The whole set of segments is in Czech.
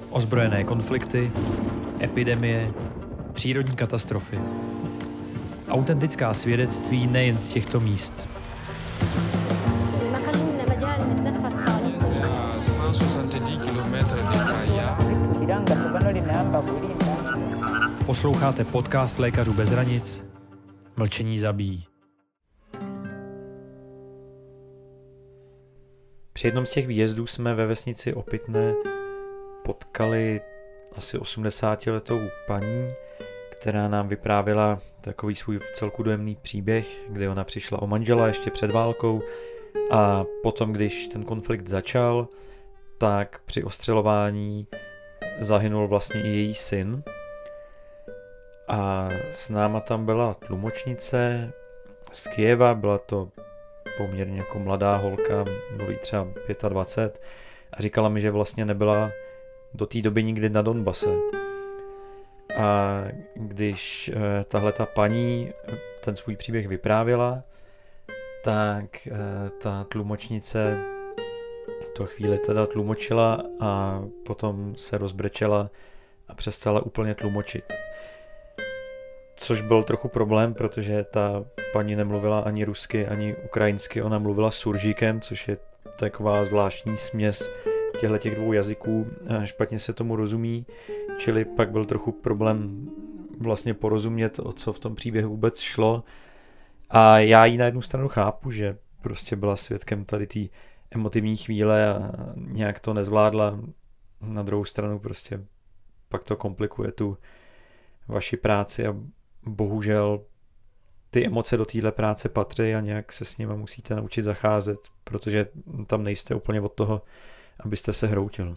Ozbrojené konflikty, epidemie, přírodní katastrofy. Autentická svědectví nejen z těchto míst. Posloucháte podcast Lékařů bez hranic. Mlčení zabíjí. Při jednom z těch výjezdů jsme ve vesnici Opytné potkali asi 80letou paní, která nám vyprávěla takový svůj vcelku dojemný příběh, kdy ona přišla o manžela ještě před válkou a potom, když ten konflikt začal, tak při ostřelování zahynul vlastně i její syn. A s náma tam byla tlumočnice z Kyjeva, byla to poměrně jako mladá holka, bylo jí třeba 25 a říkala mi, že vlastně nebyla do té doby nikdy na Donbase. A když tahle ta paní ten svůj příběh vyprávěla, tak ta tlumočnice to chvíli teda tlumočila a potom se rozbrečela a přestala úplně tlumočit. Což byl trochu problém, protože ta paní nemluvila ani rusky, ani ukrajinsky, ona mluvila suržíkem, což je taková zvláštní směs těch dvou jazyků, špatně se tomu rozumí, čili pak byl trochu problém vlastně porozumět, o co v tom příběhu vůbec šlo. A já ji na jednu stranu chápu, že prostě byla svědkem tady té emotivní chvíle a nějak to nezvládla. Na druhou stranu prostě pak to komplikuje tu vaši práci a bohužel ty emoce do téhle práce patří a nějak se s nimi musíte naučit zacházet, protože tam nejste úplně od toho, abyste se hroutil.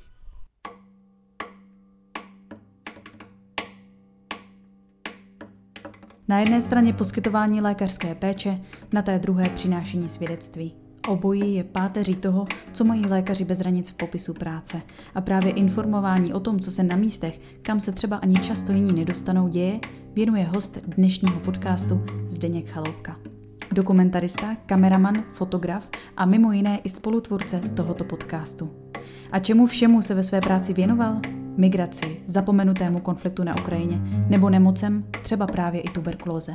Na jedné straně poskytování lékařské péče, na té druhé přinášení svědectví. Obojí je páteří toho, co mají lékaři bez hranic v popisu práce. A právě informování o tom, co se na místech, kam se třeba ani často jiní nedostanou, děje, věnuje host dnešního podcastu Zdeněk Chaloupka. Dokumentarista, kameraman, fotograf a mimo jiné i spolutvůrce tohoto podcastu. A čemu všemu se ve své práci věnoval? Migraci, zapomenutému konfliktu na Ukrajině nebo nemocem, třeba právě i tuberkulóze.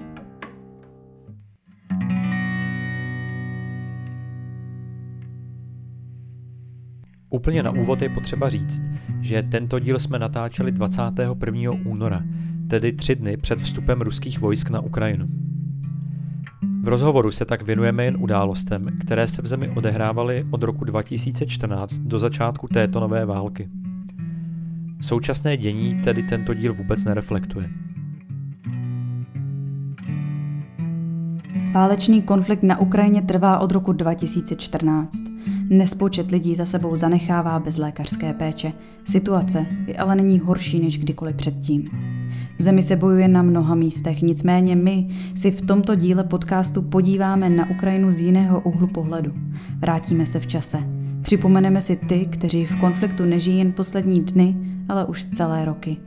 Úplně na úvod je potřeba říct, že tento díl jsme natáčeli 21. února, tedy 3 dny před vstupem ruských vojsk na Ukrajinu. V rozhovoru se tak věnujeme jen událostem, které se v zemi odehrávaly od roku 2014 do začátku této nové války. Současné dění tedy tento díl vůbec nereflektuje. Válečný konflikt na Ukrajině trvá od roku 2014. Nespočet lidí za sebou zanechává bez lékařské péče. Situace je ale není horší než kdykoliv předtím. V zemi se bojuje na mnoha místech, nicméně my si v tomto díle podcastu podíváme na Ukrajinu z jiného úhlu pohledu. Vrátíme se v čase. Připomeneme si ty, kteří v konfliktu nežijí jen poslední dny, ale už celé roky.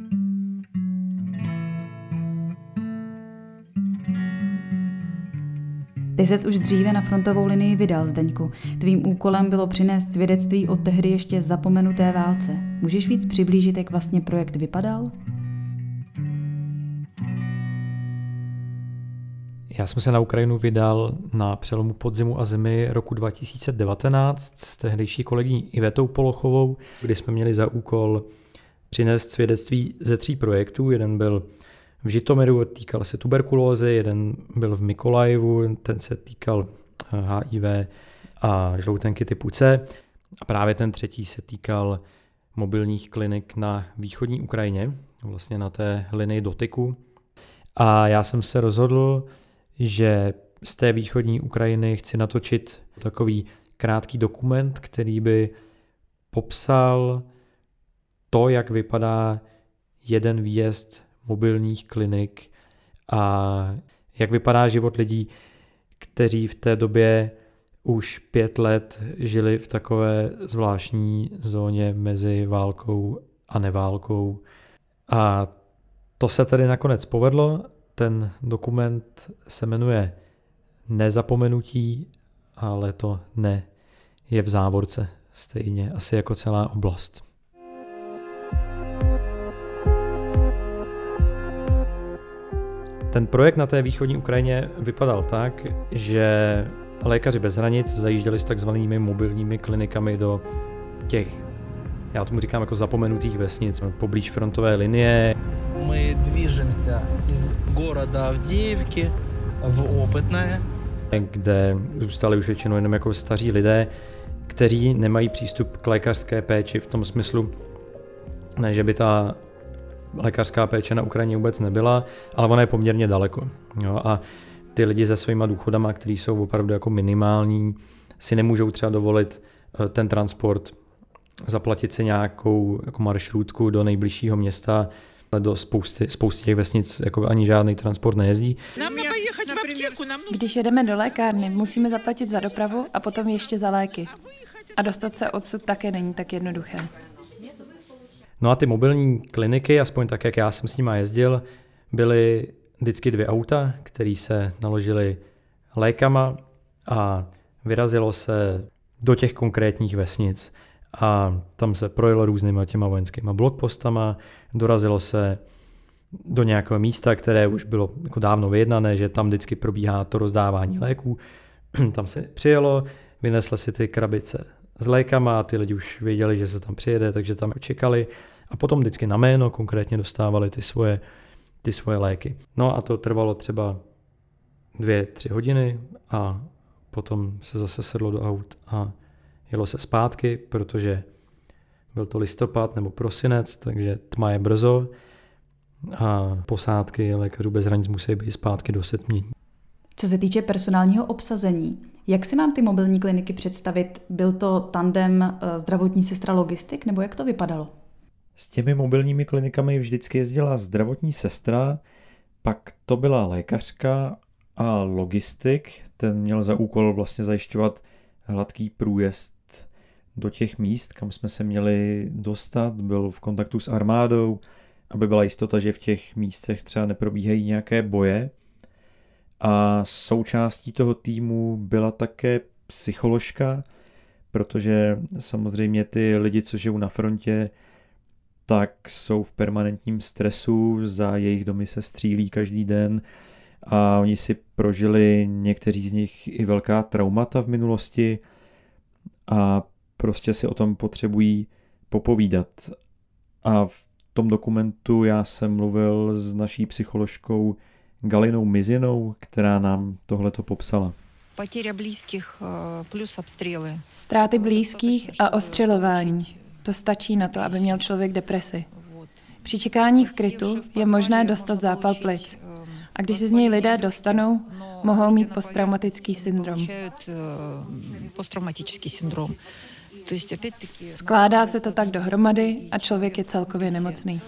Ty ses už dříve na frontovou linii vydal, Zdeňku. Tvým úkolem bylo přinést svědectví o tehdy ještě zapomenuté válce. Můžeš víc přiblížit, jak vlastně projekt vypadal? Já jsem se na Ukrajinu vydal na přelomu podzimu a zimy roku 2019 s tehdejší kolegyní Ivetou Polochovou, kdy jsme měli za úkol přinést svědectví ze 3 projektů. Jeden byl v Žitomiru, týkal se tuberkulózy, jeden byl v Mykolajivu, ten se týkal HIV a žloutenky typu C. A právě ten 3. se týkal mobilních klinik na východní Ukrajině, vlastně na té linii dotyku. A já jsem se rozhodl, že z té východní Ukrajiny chci natočit takový krátký dokument, který by popsal to, jak vypadá jeden výjezd mobilních klinik a jak vypadá život lidí, kteří v té době už 5 let žili v takové zvláštní zóně mezi válkou a neválkou. A to se tedy nakonec povedlo. Ten dokument se jmenuje Nezapomenutí, ale to ne je v závorce, stejně asi jako celá oblast. Ten projekt na té východní Ukrajině vypadal tak, že Lékaři bez hranic zajížděli s takzvanými mobilními klinikami do těch, já tomu říkám jako zapomenutých vesnic, poblíž frontové linie. My движемся из города Авдеевки в Опытное, kde zůstali už většinou jenom jako staří lidé, kteří nemají přístup k lékařské péči v tom smyslu, ne, že by ta lékařská péče na Ukrajině vůbec nebyla, ale ona je poměrně daleko. Jo, a ty lidi se svýma důchodama, kteří jsou opravdu jako minimální, si nemůžou třeba dovolit ten transport, zaplatit si nějakou jako maršrutku do nejbližšího města, do spousty těch vesnic jako ani žádný transport nejezdí. Když jedeme do lékárny, musíme zaplatit za dopravu a potom ještě za léky. A dostat se odsud také není tak jednoduché. No a ty mobilní kliniky, aspoň tak, jak já jsem s nima jezdil, byly vždycky 2 auta, které se naložily lékama a vyrazilo se do těch konkrétních vesnic. A tam se projelo různýma těma vojenskýma blokpostama, dorazilo se do nějakého místa, které už bylo jako dávno vyjednané, že tam vždycky probíhá to rozdávání léků. Tam se přijelo, vynesli si ty krabice s lékama a ty lidi už věděli, že se tam přijede, takže tam čekali a potom vždycky na jméno konkrétně dostávali ty svoje léky. No a to trvalo třeba 2-3 hodiny a potom se zase sedlo do aut a jelo se zpátky, protože byl to listopad nebo prosinec, takže tma je brzo a posádky Lékařů bez hranic musí být zpátky do setmění. Co se týče personálního obsazení, jak si mám ty mobilní kliniky představit? Byl to tandem zdravotní sestra logistik, nebo jak to vypadalo? S těmi mobilními klinikami vždycky jezdila zdravotní sestra, pak to byla lékařka a logistik. Ten měl za úkol vlastně zajišťovat hladký průjezd do těch míst, kam jsme se měli dostat. Byl v kontaktu s armádou, aby byla jistota, že v těch místech třeba neprobíhají nějaké boje. A součástí toho týmu byla také psycholožka, protože samozřejmě ty lidi, co žijou na frontě, tak jsou v permanentním stresu, za jejich domy se střílí každý den a oni si prožili někteří z nich i velká traumata v minulosti a prostě si o tom potřebují popovídat. A v tom dokumentu já jsem mluvil s naší psycholožkou Galinou Mizinou, která nám tohleto popsala. Ztráty blízkých a ostřelování. To stačí na to, aby měl člověk depresi. Při čekání v krytu je možné dostat zápal plic. A když se z něj lidé dostanou, mohou mít posttraumatický syndrom. Skládá se to tak dohromady a člověk je celkově nemocný.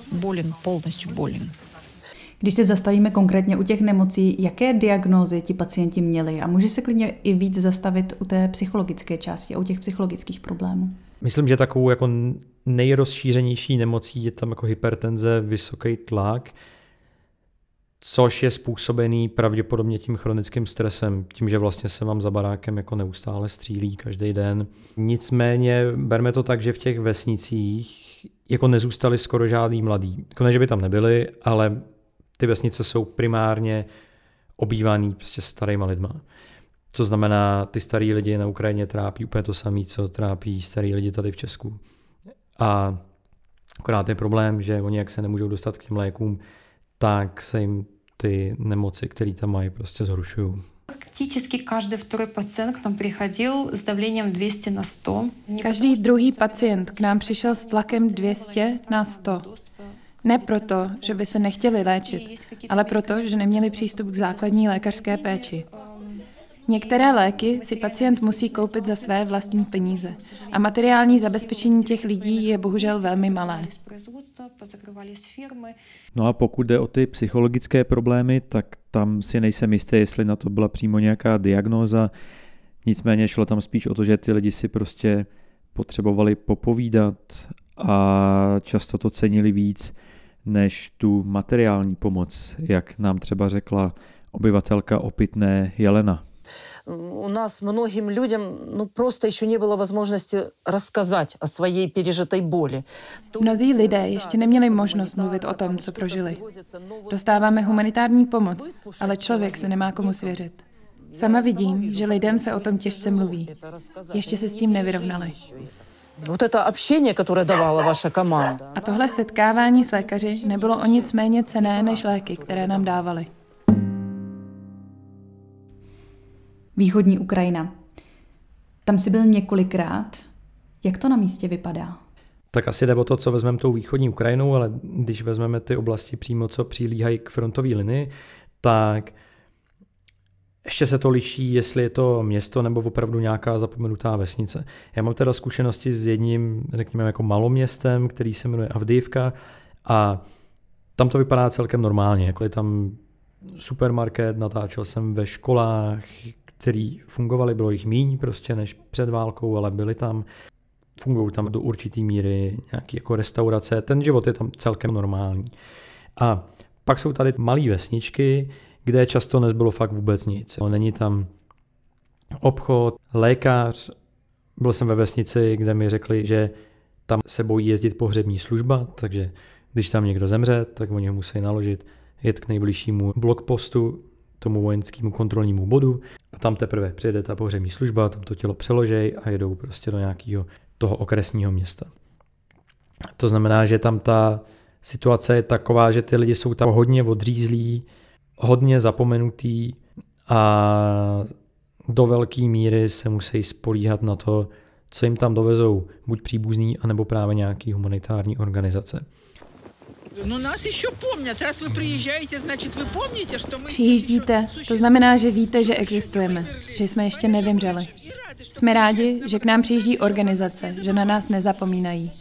Když se zastavíme konkrétně u těch nemocí, jaké diagnózy ti pacienti měli? A může se klidně i víc zastavit u té psychologické části a u těch psychologických problémů? Myslím, že takovou jako nejrozšířenější nemocí je tam jako hypertenze, vysoký tlak, což je způsobený pravděpodobně tím chronickým stresem, tím, že vlastně se vám za barákem jako neustále střílí každý den. Nicméně berme to tak, že v těch vesnicích jako nezůstali skoro žádný mladí. Jako ne, že by tam nebyli, ale ty vesnice jsou primárně obývaný prostě starýma lidma. To znamená, ty starý lidi na Ukrajině trápí úplně to samé, co trápí starý lidi tady v Česku. A akorát je problém, že oni jak se nemůžou dostat k těm lékům, tak se jim ty nemoci, které tam mají, prostě zhoršují. Практически каждый второй пациент к нам приходил с давлением 200 на 100. Každý druhý pacient k nám přišel s tlakem 200 na 100. Ne proto, že by se nechtěli léčit, ale proto, že neměli přístup k základní lékařské péči. Některé léky si pacient musí koupit za své vlastní peníze a materiální zabezpečení těch lidí je bohužel velmi malé. No a pokud jde o ty psychologické problémy, tak tam si nejsem jistý, jestli na to byla přímo nějaká diagnóza. Nicméně šlo tam spíš o to, že ty lidi si prostě potřebovali popovídat a často to cenili víc než tu materiální pomoc, jak nám třeba řekla obyvatelka Opytné Jelena. У nás mnohým lidem prostě ještě nebylo možnosti rozkazat o své пережитой боли. Mnozí lidé ještě neměli možnost mluvit o tom, co prožili. Dostáváme humanitární pomoc, ale člověk se nemá komu svěřit. Sama vidím, že lidem se o tom těžce mluví. Ještě se s tím nevyrovnali. Вот это общение, которое давала ваша команда. A tohle setkávání s lékaři nebylo o nic méně cenné než léky, které nám dávali. Východní Ukrajina. Tam jsi byl několikrát. Jak to na místě vypadá? Tak asi jde o to, co vezmeme tou východní Ukrajinou, ale když vezmeme ty oblasti přímo, co přilíhají k frontové linii, tak ještě se to liší, jestli je to město nebo opravdu nějaká zapomenutá vesnice. Já mám teda zkušenosti s jedním, řekněme, jako maloměstem, který se jmenuje Avdijivka a tam to vypadá celkem normálně. Jako je tam supermarket, natáčel jsem ve školách, které fungovaly, bylo jich míň prostě než před válkou, ale byly tam. Fungují tam do určitý míry nějaké jako restaurace, ten život je tam celkem normální. A pak jsou tady malé vesničky, kde často nezbylo fakt vůbec nic. Není tam obchod, lékař. Byl jsem ve vesnici, kde mi řekli, že tam se bojí jezdit pohřební služba, takže když tam někdo zemře, tak oni ho musí naložit, jet k nejbližšímu blokpostu, tomu vojenskému kontrolnímu bodu. A tam teprve přijede ta pohřební služba, tam to tělo přeložej a jedou prostě do nějakého toho okresního města. To znamená, že tam ta situace je taková, že ty lidi jsou tam hodně odřízlí, hodně zapomenutý a do velké míry se musí spolíhat na to, co jim tam dovezou buď příbuzní, anebo právě nějaký humanitární organizace. No nás ještě pomnět, raz vy přijíždějte, значит vy pomníte, že my... Přijíždíte, to znamená, že víte, že existujeme, že jsme ještě nevymřeli. Jsme rádi, že k nám přijíždí organizace, že na nás nezapomínají.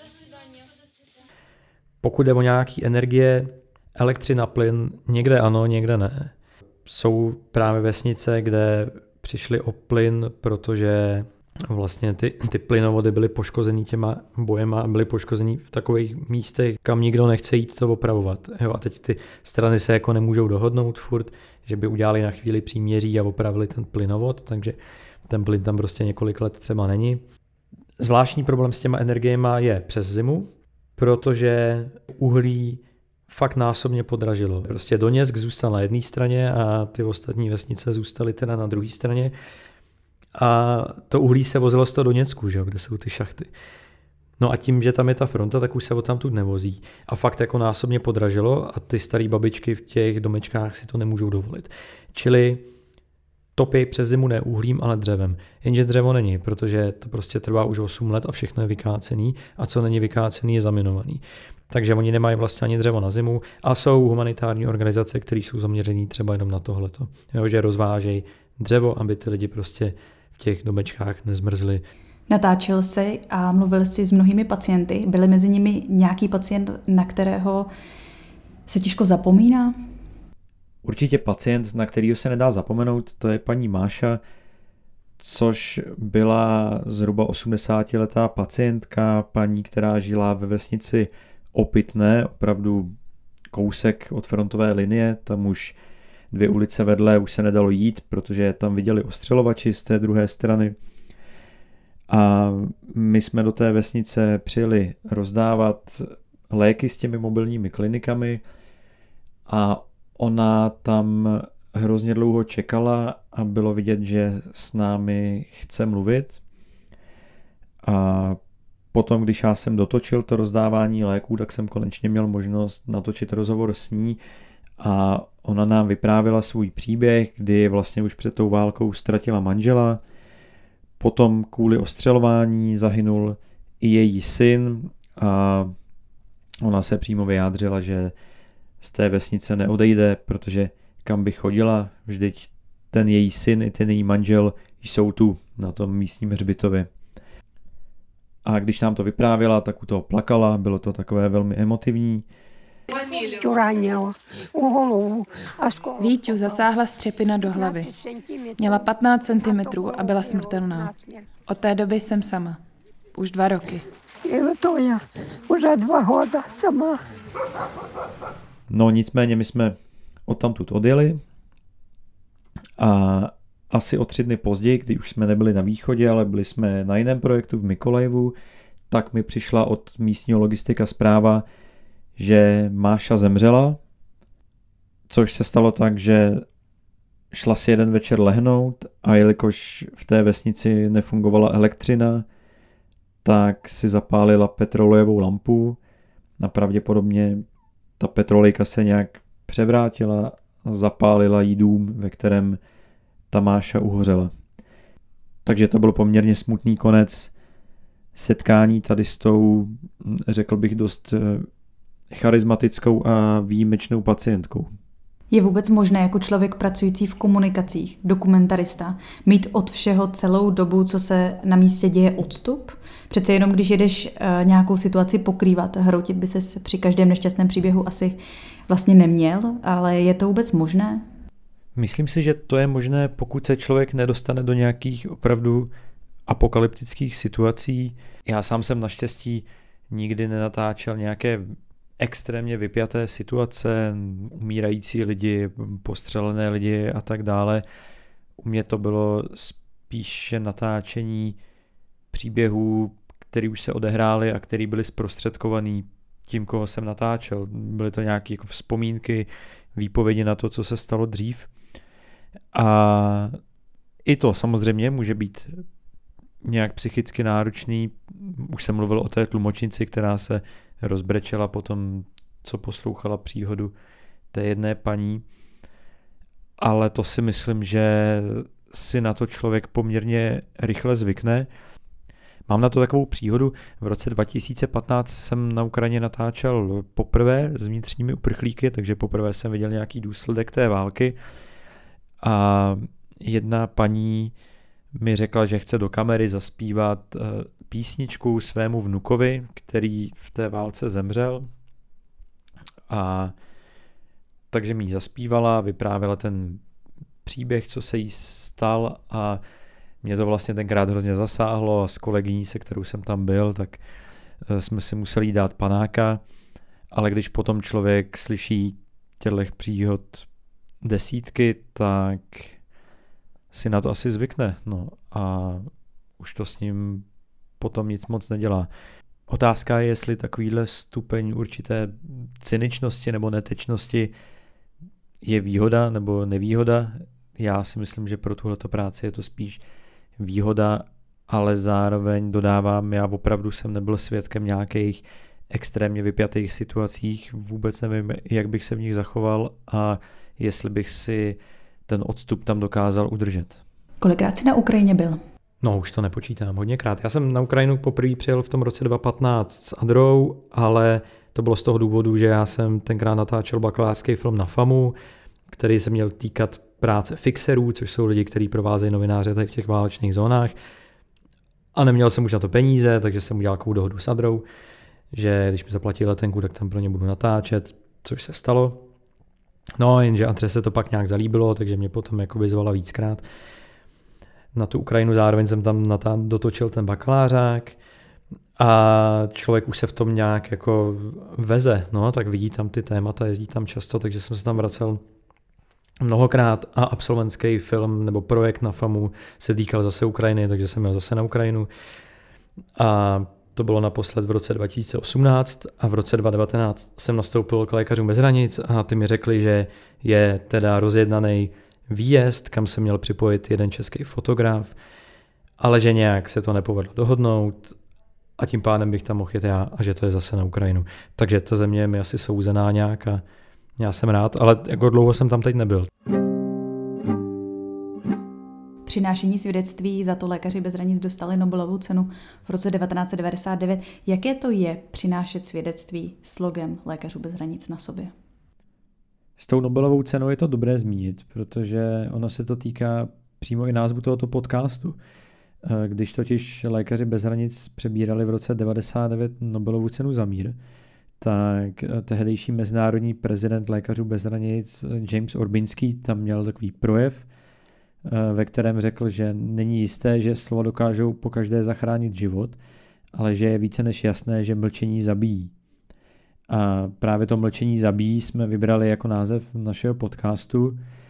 Pokud jde o nějaký energie, elektřina, plyn, někde ano, někde ne. Jsou právě vesnice, kde přišli o plyn, protože vlastně ty plynovody byly poškozený těma bojema a byly poškozený v takových místech, kam nikdo nechce jít to opravovat. Jo, a teď ty strany se jako nemůžou dohodnout furt, že by udělali na chvíli příměří a opravili ten plynovod, takže ten plyn tam prostě několik let třeba není. Zvláštní problém s těma energiema je přes zimu, protože uhlí fakt násobně podražilo. Prostě Doněck zůstal na jedné straně a ty ostatní vesnice zůstaly teda na druhé straně. A to uhlí se vozilo z toho Doněcku, že jo, kde jsou ty šachty. No a tím, že tam je ta fronta, tak už se odtamtud nevozí. A fakt jako násobně podražilo a ty staré babičky v těch domečkách si to nemůžou dovolit. Čili topí přes zimu ne uhlím, ale dřevem. Jenže dřevo není, protože to prostě trvá už 8 let a všechno je vykácený a co není vykácený je zaminovaný. Takže oni nemají vlastně ani dřevo na zimu a jsou humanitární organizace, které jsou zaměřený třeba jenom na tohleto. Jo, že rozvážejí dřevo, aby ty lidi prostě v těch domečkách nezmrzli. Natáčel jsi a mluvil jsi s mnohými pacienty. Byli mezi nimi nějaký pacient, na kterého se těžko zapomíná? Určitě pacient, na kterýho se nedá zapomenout, to je paní Máša, což byla zhruba 80letá pacientka, paní, která žila ve vesnici Opitné, opravdu kousek od frontové linie, tam už 2 ulice vedle už se nedalo jít, protože tam viděli ostřelovači z té druhé strany. A my jsme do té vesnice přijeli rozdávat léky s těmi mobilními klinikami a ona tam hrozně dlouho čekala a bylo vidět, že s námi chce mluvit. A potom, když já jsem dotočil to rozdávání léků, tak jsem konečně měl možnost natočit rozhovor s ní a ona nám vyprávěla svůj příběh, kdy vlastně už před tou válkou ztratila manžela, potom kvůli ostřelování zahynul i její syn a ona se přímo vyjádřila, že z té vesnice neodejde, protože kam by chodila, vždyť ten její syn i ten její manžel jsou tu na tom místním hřbitově. A když nám to vyprávěla, tak u toho plakala, bylo to takové velmi emotivní. Víťu zasáhla střepina do hlavy. Měla 15 cm a byla smrtelná. Od té doby jsem sama. Už 2 roky. Už 2 roky sama. No nicméně my jsme odtamtud odjeli a asi o 3 dny později, když už jsme nebyli na východě, ale byli jsme na jiném projektu v Mykolajivu, tak mi přišla od místního logistika zpráva, že Máša zemřela, což se stalo tak, že šla si jeden večer lehnout a jelikož v té vesnici nefungovala elektřina, tak si zapálila petrolejovou lampu a pravděpodobně ta petrolejka se nějak převrátila a zapálila jí dům, ve kterém ta Máša uhořela. Takže to byl poměrně smutný konec setkání tady s tou, řekl bych, dost charismatickou a výjimečnou pacientkou. Je vůbec možné jako člověk pracující v komunikacích, dokumentarista, mít od všeho celou dobu, co se na místě děje, odstup? Přece jenom když jedeš nějakou situaci pokrývat, hroutit by se při každém nešťastném příběhu asi vlastně neměl, ale je to vůbec možné? Myslím si, že to je možné, pokud se člověk nedostane do nějakých opravdu apokalyptických situací. Já sám jsem naštěstí nikdy nenatáčel nějaké extrémně vypjaté situace, umírající lidi, postřelené lidi a tak dále. U mě to bylo spíše natáčení příběhů, které už se odehrály a které byly zprostředkovaný tím, koho jsem natáčel. Byly to nějaké jako vzpomínky, výpovědi na to, co se stalo dřív. A i to samozřejmě může být nějak psychicky náročný. Už jsem mluvil o té tlumočnici, která se rozbrečela po tom, co poslouchala příhodu té jedné paní. Ale to si myslím, že si na to člověk poměrně rychle zvykne. Mám na to takovou příhodu. V roce 2015 jsem na Ukrajině natáčel poprvé s vnitřními uprchlíky, takže poprvé jsem viděl nějaký důsledek té války. A jedna paní mi řekla, že chce do kamery zaspívat písničku svému vnukovi, který v té válce zemřel. A takže mi ji zaspívala, vyprávěla ten příběh, co se jí stal a mě to vlastně tenkrát hrozně zasáhlo a s kolegyní, se kterou jsem tam byl, tak jsme si museli dát panáka, ale když potom člověk slyší těchto příhod desítky, tak si na to asi zvykne, no a už to s ním potom nic moc nedělá. Otázka je, jestli takovýhle stupeň určité cyničnosti nebo netečnosti je výhoda nebo nevýhoda. Já si myslím, že pro tuhleto práci je to spíš výhoda, ale zároveň dodávám, já opravdu jsem nebyl svědkem nějakých extrémně vypjatých situacích, vůbec nevím, jak bych se v nich zachoval a jestli bych si ten odstup tam dokázal udržet. Kolikrát jsi na Ukrajině byl? No, už to nepočítám, hodněkrát. Já jsem na Ukrajinu poprvé přijel v tom roce 2015 s Adrou, ale to bylo z toho důvodu, že já jsem tenkrát natáčel bakalářský film na FAMu, který se měl týkat práce fixerů, což jsou lidi, kteří provázejí novináře tady v těch válečných zónách. A neměl jsem už na to peníze, takže jsem udělal takovou dohodu s Adrou, že když mi zaplatí letenku, tak tam pro ně budu natáčet, což se stalo. No, jenže Adře se to pak nějak zalíbilo, takže mě potom jakoby zvala víckrát na tu Ukrajinu. Zároveň jsem tam dotočil ten bakalářák a člověk už se v tom nějak jako veze, no, tak vidí tam ty témata, jezdí tam často, takže jsem se tam vracel mnohokrát a absolventský film nebo projekt na FAMu se týkal zase Ukrajiny, takže jsem měl zase na Ukrajinu a to bylo naposled v roce 2018 a v roce 2019 jsem nastoupil k Lékařům bez hranic a ty mi řekli, že je teda rozjednaný výjezd, kam se měl připojit jeden český fotograf, ale že nějak se to nepovedlo dohodnout a tím pádem bych tam mohl jet já a že to je zase na Ukrajinu. Takže ta země je mi asi souzená nějak a já jsem rád, ale jako dlouho jsem tam teď nebyl. Přinášení svědectví, za to Lékaři bez hranic dostali Nobelovu cenu v roce 1999. Jaké to je přinášet svědectví s logem Lékařů bez hranic na sobě? S tou Nobelovou cenou je to dobré zmínit, protože ono se to týká přímo i názvu tohoto podcastu. Když totiž Lékaři bez hranic přebírali v roce 1999 Nobelovu cenu za mír, tak tehdejší mezinárodní prezident Lékařů bez hranic James Orbinský tam měl takový projev, ve kterém řekl, že není jisté, že slova dokážou pokaždé zachránit život, ale že je více než jasné, že mlčení zabíjí. A právě to mlčení zabíjí jsme vybrali jako název našeho podcastu,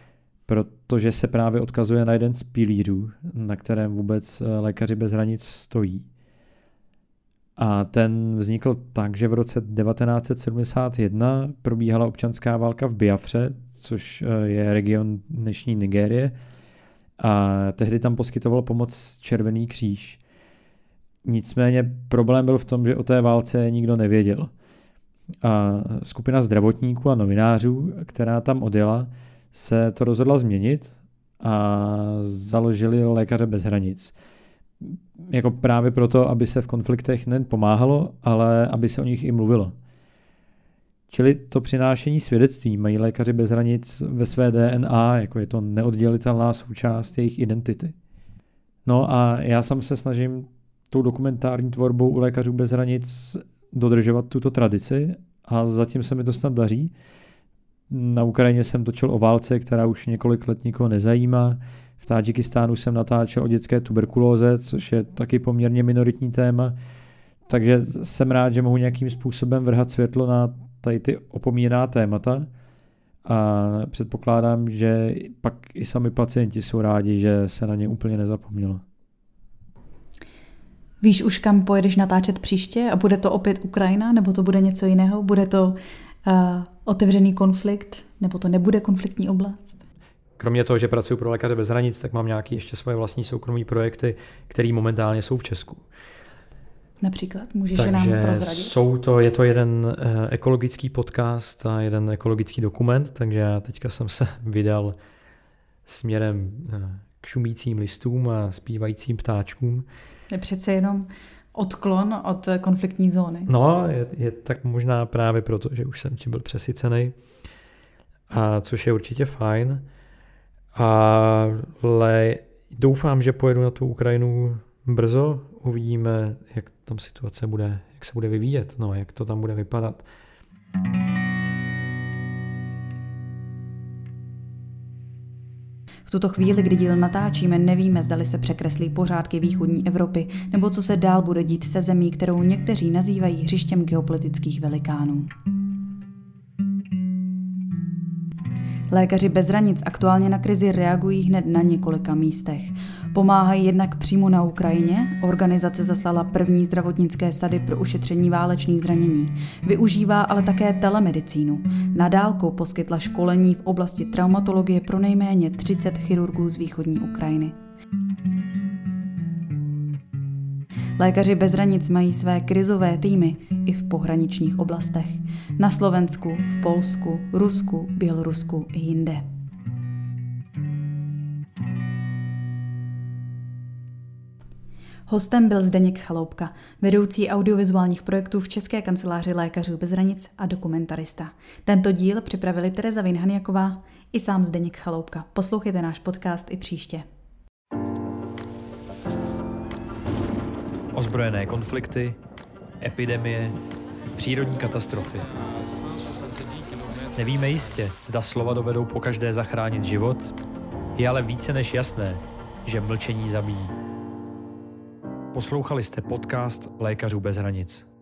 protože se právě odkazuje na jeden z pilířů, na kterém vůbec Lékaři bez hranic stojí. A ten vznikl tak, že v roce 1971 probíhala občanská válka v Biafře, což je region dnešní Nigérie, a tehdy tam poskytoval pomoc Červený kříž. Nicméně problém byl v tom, že o té válce nikdo nevěděl. A skupina zdravotníků a novinářů, která tam odjela, se to rozhodla změnit a založili Lékaře bez hranic. Jako právě proto, aby se v konfliktech nejen pomáhalo, ale aby se o nich i mluvilo. Čili to přinášení svědectví mají Lékaři bez hranic ve své DNA, jako je to neoddělitelná součást jejich identity. No a já sám se snažím tou dokumentární tvorbou u Lékařů bez hranic dodržovat tuto tradici a zatím se mi to snad daří. Na Ukrajině jsem točil o válce, která už několik let nikoho nezajímá. V Tádžikistánu jsem natáčel o dětské tuberkulóze, což je taky poměrně minoritní téma. Takže jsem rád, že mohu nějakým způsobem vrhat světlo na tady ty opomíjená témata a předpokládám, že pak i sami pacienti jsou rádi, že se na ně úplně nezapomnělo. Víš už, kam pojedeš natáčet příště a bude to opět Ukrajina, nebo to bude něco jiného? Bude to otevřený konflikt, nebo to nebude konfliktní oblast? Kromě toho, že pracuji pro Lékaře bez hranic, tak mám nějaké ještě svoje vlastní soukromé projekty, které momentálně jsou v Česku. Například? Můžeš je nám prozradit? Je to jeden ekologický podcast a jeden ekologický dokument, takže já teďka jsem se vydal směrem k šumícím listům a zpívajícím ptáčkům. Je přece jenom odklon od konfliktní zóny. No, je tak možná právě proto, že už jsem tím byl přesycený, a což je určitě fajn. Ale doufám, že pojedu na tu Ukrajinu brzo, uvidíme, jak tam situace bude, jak se bude vyvíjet, no, jak to tam bude vypadat. V tuto chvíli, kdy díl natáčíme, nevíme, zdali se překreslí pořádky východní Evropy, nebo co se dál bude dít se zemí, kterou někteří nazývají hřištěm geopolitických velikánů. Lékaři bez hranic aktuálně na krizi reagují hned na několika místech. Pomáhají jednak přímo na Ukrajině, organizace zaslala první zdravotnické sady pro ušetření válečných zranění. Využívá ale také telemedicínu. Na dálku poskytla školení v oblasti traumatologie pro nejméně 30 chirurgů z východní Ukrajiny. Lékaři bez hranic mají své krizové týmy i v pohraničních oblastech. Na Slovensku, v Polsku, Rusku, Bělorusku i jinde. Hostem byl Zdeněk Chaloupka, vedoucí audiovizuálních projektů v České kanceláři Lékařů bez hranic a dokumentarista. Tento díl připravili Tereza Vinhaniaková i sám Zdeněk Chaloupka. Poslouchejte náš podcast i příště. Ozbrojené konflikty, epidemie, přírodní katastrofy. Nevíme jistě, zda slova dovedou pokaždé zachránit život, je ale více než jasné, že mlčení zabíjí. Poslouchali jste podcast Lékařů bez hranic.